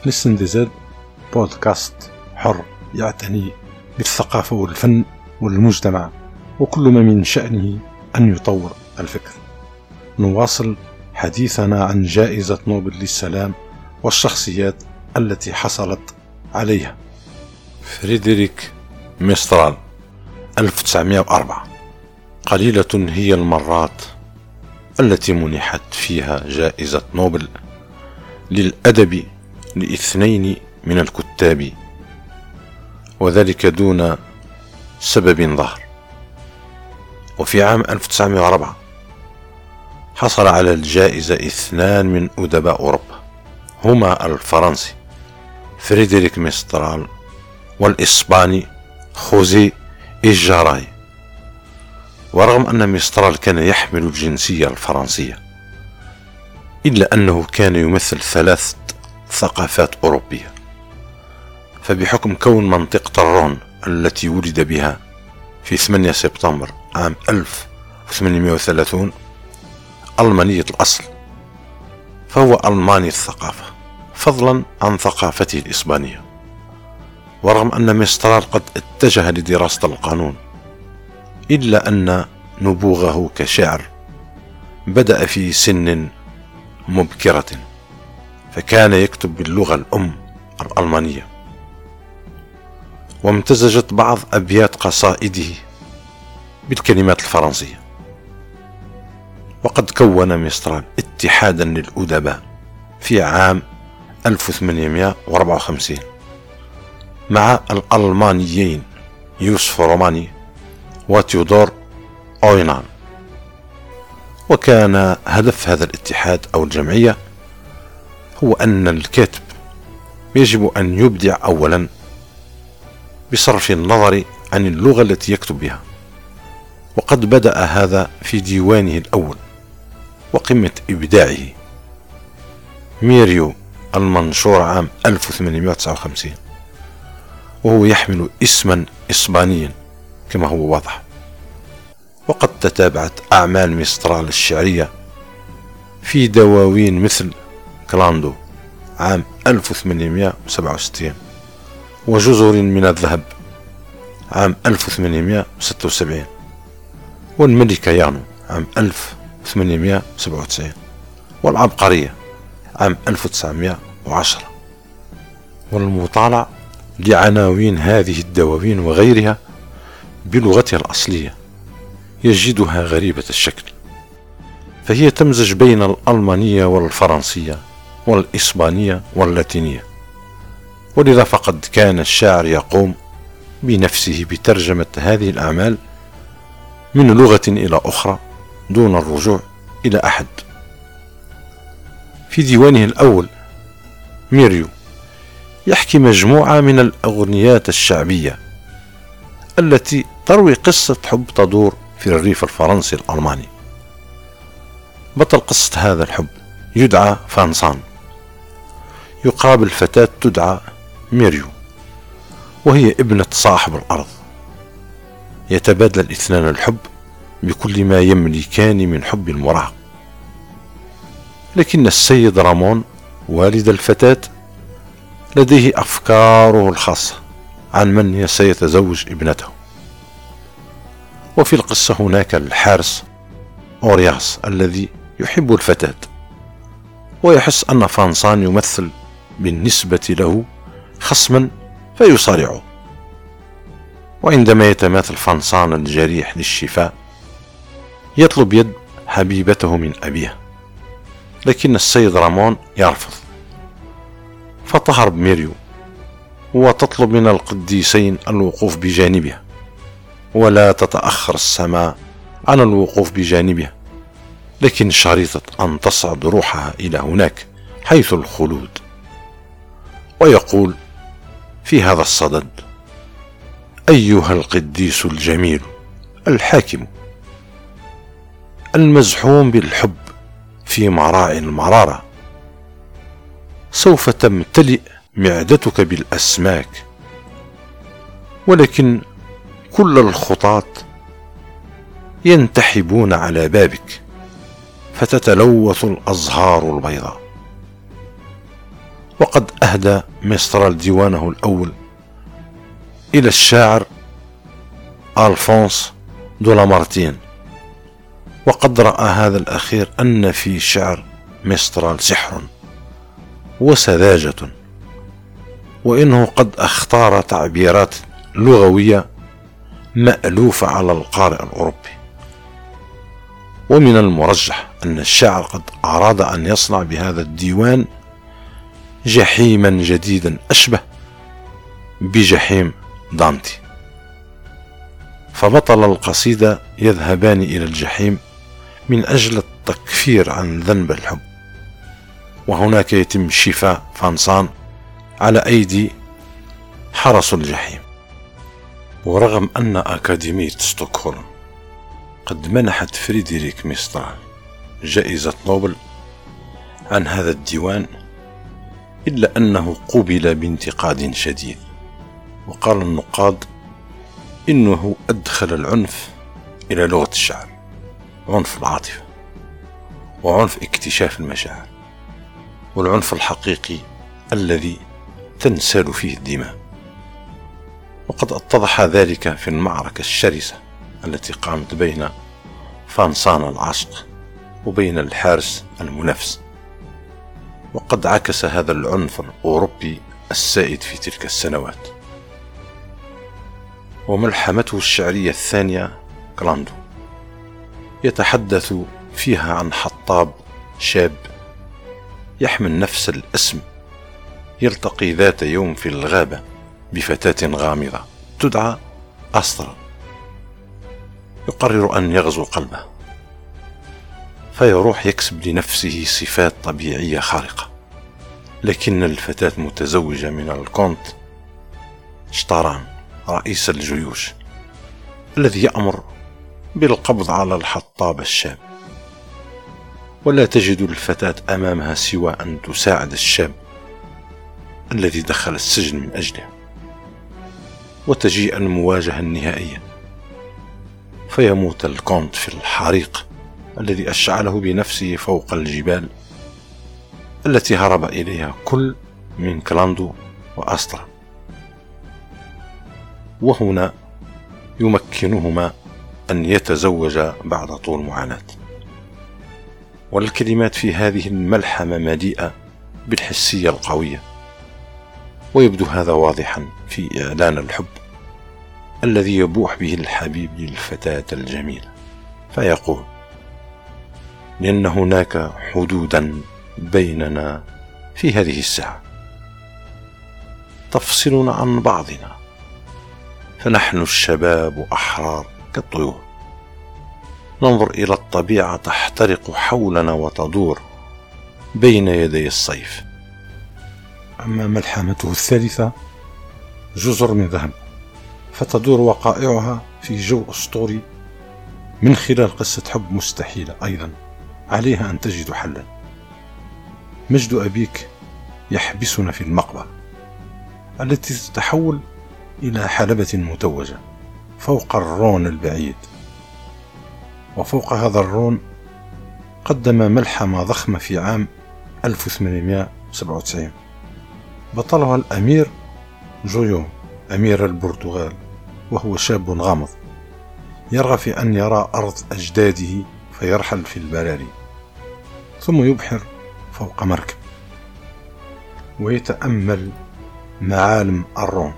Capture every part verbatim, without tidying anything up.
لسن دي زد بودكاست حر يعتني بالثقافة والفن والمجتمع وكل ما من شأنه أن يطور الفكر. نواصل حديثنا عن جائزة نوبل للسلام والشخصيات التي حصلت عليها. فريدريك ميسترال ألف وتسعمائة وأربعة. قليلة هي المرات التي منحت فيها جائزة نوبل للأدب لاثنين من الكتاب، وذلك دون سبب ظاهر. وفي عام ألف وتسعمائة وأربعة حصل على الجائزة اثنان من أدباء أوروبا، هما الفرنسي فريدريك ميسترال والإسباني خوزي إيجاراي. ورغم أن ميسترال كان يحمل الجنسية الفرنسية، إلا أنه كان يمثل ثلاث ثقافات أوروبية، فبحكم كون منطقة الرون التي ولد بها في ثمانية سبتمبر عام ألف وثمانمائة وثلاثين ألمانية الأصل، فهو ألماني الثقافة فضلا عن ثقافته الإسبانية. ورغم أن ميسترال قد اتجه لدراسة القانون، إلا أن نبوغه كشاعر بدأ في سن مبكرة، فكان يكتب باللغة الأم الألمانية، وامتزجت بعض أبيات قصائده بالكلمات الفرنسية. وقد كون ميسترال اتحادا للأدباء في عام ألف وثمانمائة وأربعة وخمسين مع الألمانيين يوسف روماني وتيودور أوينان. وكان هدف هذا الاتحاد أو الجمعية هو أن الكاتب يجب أن يبدع أولا بصرف النظر عن اللغة التي يكتب بها، وقد بدأ هذا في ديوانه الأول وقمة إبداعه ميريو المنشور عام ألف وثمانمائة وتسعة وخمسين، وهو يحمل اسما إسبانيا كما هو واضح. وقد تتابعت أعمال ميسترال الشعرية في دواوين مثل كلاندو عام ألف وثمانمائة وسبعة وستين، وجزر من الذهب عام ألف وثمانمائة وستة وسبعين، والملكة يانو عام ألف وثمانمائة وسبعة وتسعين، والعبقرية عام ألف وتسعمائة وعشرة. والمطالع لعناوين هذه الدواوين وغيرها بلغتها الأصلية يجدها غريبة الشكل، فهي تمزج بين الألمانية والفرنسية والإسبانية واللاتينية. ولذا فقد كان الشاعر يقوم بنفسه بترجمة هذه الأعمال من لغة إلى أخرى دون الرجوع إلى أحد. في ديوانه الأول ميريو يحكي مجموعة من الأغنيات الشعبية التي تروي قصة حب تدور في الريف الفرنسي الألماني. بطل قصة هذا الحب يدعى فانسان، يقابل فتاة تدعى ميريو وهي ابنة صاحب الأرض. يتبادل الاثنان الحب بكل ما يملكان من حب المراهق، لكن السيد رامون والد الفتاة لديه أفكاره الخاصة عن من سيتزوج ابنته. وفي القصة هناك الحارس أورياس الذي يحب الفتاة، ويحس أن فانسان يمثل بالنسبة له خصما فيصارعه. وعندما يتماثل فانسان الجريح للشفاء يطلب يد حبيبته من أبيها، لكن السيد رامون يرفض، فتهرب ميريو وتطلب من القديسين الوقوف بجانبها، ولا تتأخر السماء عن الوقوف بجانبها، لكن شريطة أن تصعد روحها إلى هناك حيث الخلود. ويقول في هذا الصدد: أيها القديس الجميل الحاكم المزحوم بالحب في مراعي المرارة، سوف تمتلئ معدتك بالأسماك، ولكن كل الخطاة ينتحبون على بابك فتتلوث الأزهار البيضاء. وقد أهدى ميسترال ديوانه الأول إلى الشاعر ألفونس دولامارتين، وقد رأى هذا الأخير أن في شعر ميسترال سحر وسذاجة، وإنه قد اختار تعبيرات لغوية مألوفة على القارئ الأوروبي. ومن المرجح أن الشاعر قد أراد أن يصنع بهذا الديوان جحيما جديدا أشبه بجحيم دانتي، فبطل القصيدة يذهبان إلى الجحيم من أجل التكفير عن ذنب الحب، وهناك يتم شفاء فانسان على أيدي حرس الجحيم. ورغم أن أكاديمية ستوكهولم قد منحت فريدريك ميسترال جائزة نوبل عن هذا الديوان، إلا أنه قوبل بانتقاد شديد، وقال النقاد إنه أدخل العنف إلى لغة الشعر، عنف العاطفة وعنف اكتشاف المشاعر، والعنف الحقيقي الذي تنسال فيه الدماء. وقد اتضح ذلك في المعركة الشرسة التي قامت بين فانسان العشق وبين الحارس المنافس، وقد عكس هذا العنف الأوروبي السائد في تلك السنوات. وملحمته الشعرية الثانية كلاندو يتحدث فيها عن حطاب شاب يحمل نفس الاسم يلتقي ذات يوم في الغابة بفتاة غامضة تدعى أسترا، يقرر أن يغزو قلبه فيروح يكسب لنفسه صفات طبيعية خارقة، لكن الفتاة متزوجة من الكونت شطاران رئيس الجيوش الذي يأمر بالقبض على الحطاب الشاب، ولا تجد الفتاة أمامها سوى أن تساعد الشاب الذي دخل السجن من أجله. وتجيء المواجهة النهائية فيموت الكونت في الحريق الذي أشعله بنفسه فوق الجبال التي هرب إليها كل من كلاندو وأسترا، وهنا يمكنهما أن يتزوجا بعد طول معاناة. والكلمات في هذه الملحمة مليئة بالحسية القوية، ويبدو هذا واضحا في إعلان الحب الذي يبوح به الحبيب للفتاة الجميلة، فيقول: لأن هناك حدودا بيننا في هذه الساعة تفصلنا عن بعضنا، فنحن الشباب أحرار كالطيور، ننظر إلى الطبيعة تحترق حولنا وتدور بين يدي الصيف. أما ملحمته الثالثة جزر من ذهب، فتدور وقائعها في جو أسطوري من خلال قصة حب مستحيلة أيضا عليها أن تجد حلا. مجد أبيك يحبسنا في المقبرة التي تتحول إلى حلبة متوجة فوق الرون البعيد، وفوق هذا الرون قدم ملحمة ضخمة في عام ألف وثمانمائة وسبعة وتسعين بطلها الأمير جويون أمير البرتغال، وهو شاب غامض يرغب في أن يرى أرض أجداده فيرحل في البراري، ثم يبحر فوق مركب ويتأمل معالم الرون،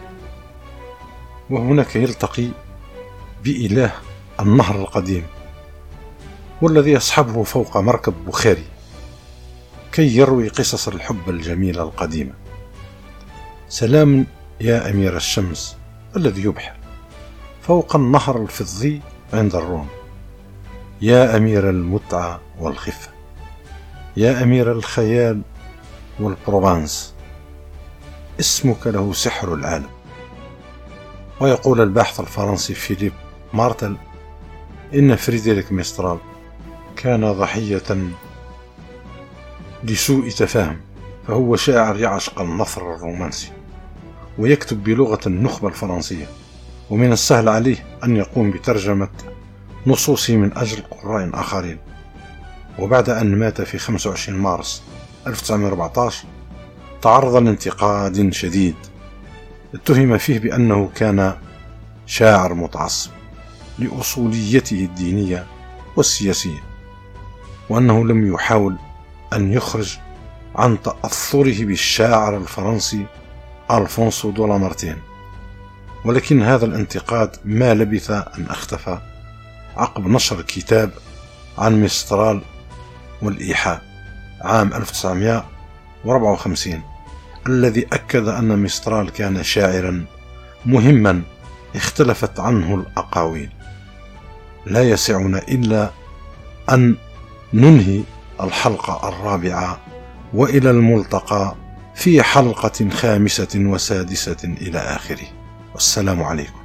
وهناك يلتقي بإله النهر القديم والذي يصحبه فوق مركب بخاري كي يروي قصص الحب الجميلة القديمة. سلام يا أمير الشمس الذي يبحر فوق النهر الفضي عند الرون، يا أمير المتعة والخفة، يا أمير الخيال والبروفانس، اسمك له سحر العالم. ويقول الباحث الفرنسي فيليب مارتل إن فريدريك ميسترال كان ضحية لسوء تفاهم، فهو شاعر يعشق النثر الرومانسي ويكتب بلغة النخبة الفرنسية، ومن السهل عليه أن يقوم بترجمة نصوصه من أجل قراء آخرين. وبعد أن مات في خمسة وعشرين مارس ألف وتسعمائة وأربعة عشر تعرض لانتقاد شديد، اتهم فيه بأنه كان شاعر متعصب لأصوليته الدينية والسياسية، وأنه لم يحاول أن يخرج عن تأثره بالشاعر الفرنسي ألفونسو دو لامارتين. ولكن هذا الانتقاد ما لبث أن اختفى عقب نشر كتاب عن ميسترال والإيحاء عام ألف وتسعمائة وأربعة وخمسين، الذي أكد أن ميسترال كان شاعرا مهما اختلفت عنه الأقاويل. لا يسعنا إلا أن ننهي الحلقة الرابعة، وإلى الملتقى في حلقة خامسة وسادسة إلى آخره، والسلام عليكم.